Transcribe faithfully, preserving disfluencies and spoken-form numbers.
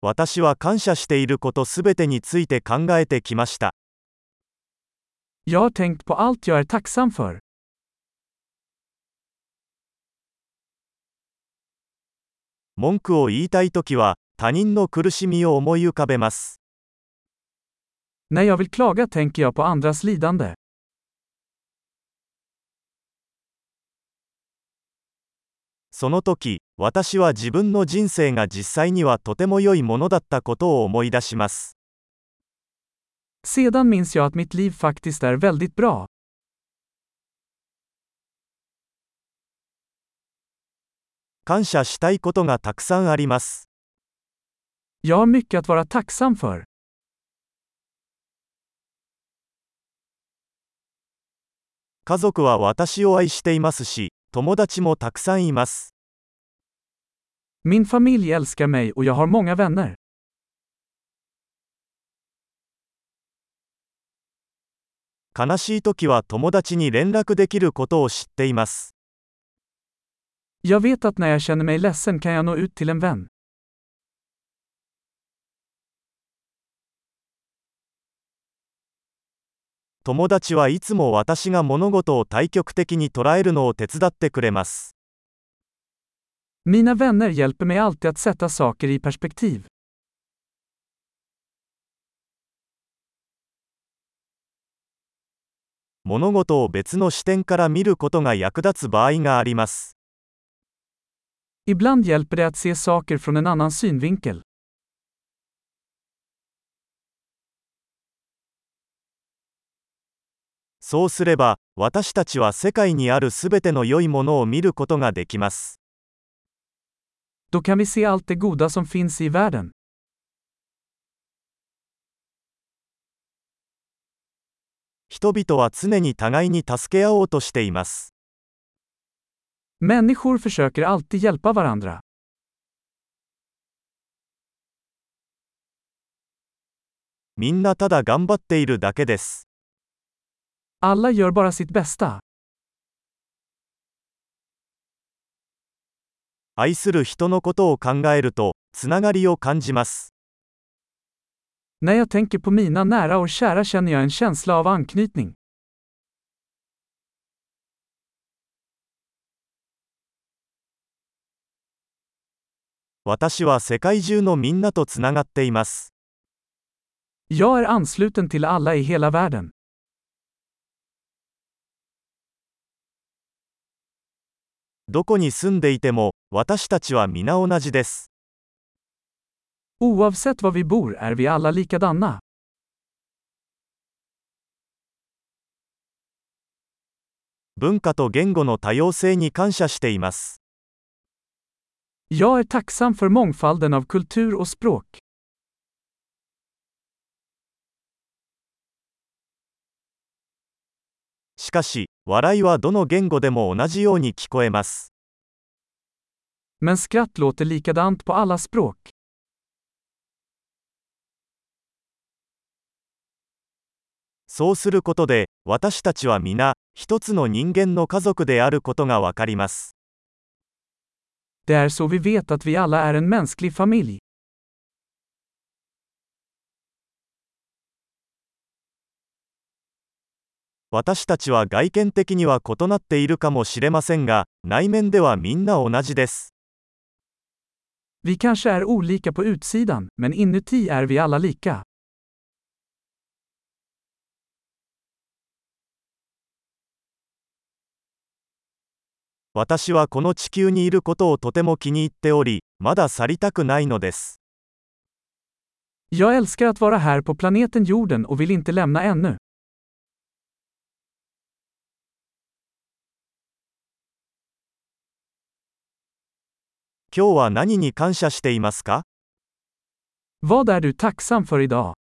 私は感謝していることすべてについて考えてきました。 Jag har tänkt på allt jag är tacksam för. 文句を言いたいときは、他人の苦しみを思い浮かべます。 När jag vill klaga tänker jag på andras lidande. その時、私は自分の人生が実際にはとても良いものだったことを思い出します。 Sedan minns jag att mitt liv faktiskt är väldigt bra. 感謝したいことがたくさんあります。 Jag har mycket att vara tacksam för. 家族は私を愛していますし、友達もたくさんいます。 Min familj älskar mig och jag har många vänner. 悲しいときは友達に連絡できることを知っています。 Jag vet att när jag känner mig ledsen kan jag nå ut till en vän. 友達はいつも私が物事を対極的に捉えるのを手伝ってくれます。 Mina vänner hjälper mig alltid att sätta saker i perspektiv. 物事を別の視点から見ることが役立つ場合があります。 Ibland hjälper det att se saker från en annan synvinkel. そうすれば、私たちは世界にあるすべての良いものを見ることができます。 Då kan vi se allt det goda som finns i världen. 人々は常に互いに助け合おうとしています。 Människor försöker alltid hjälpa varandra. みんなただ頑張っているだけです。 Alla gör bara sitt bästa. 愛する人のことを考えると、つながりを感じます。 När jag tänker på mina nära och kära känner jag en känsla av anknytning. 私は世界中のみんなとつながっています。 Jag är ansluten till alla i hela världen. どこに住んでいても、私たちは皆同じです。 Oavsett var vi bor är vi alla likadana. 文化と言語の多様性に感謝しています。 Jag är tacksam för mångfalden av kultur och språk. しかし、笑いはどの言語でも同じように聞こえます。 Men skratt låter likadant på alla språk. そうすることで、私たちは皆、一つの人間の家族であることがわかります。 Det är så vi vet att vi alla är en mänsklig familj. 私たちは外見的には異なっているかもしれませんが、内面ではみんな同じです。 Vi kanske är olika på utsidan, men inuti är vi alla lika. 私はこの地球にいることをとても気に入っており、まだ去りたくないのです。 Jag älskar att vara här på planeten jorden och vill inte lämna ännu. 今日は何に感謝していますか？ Vad är du tacksam för idag?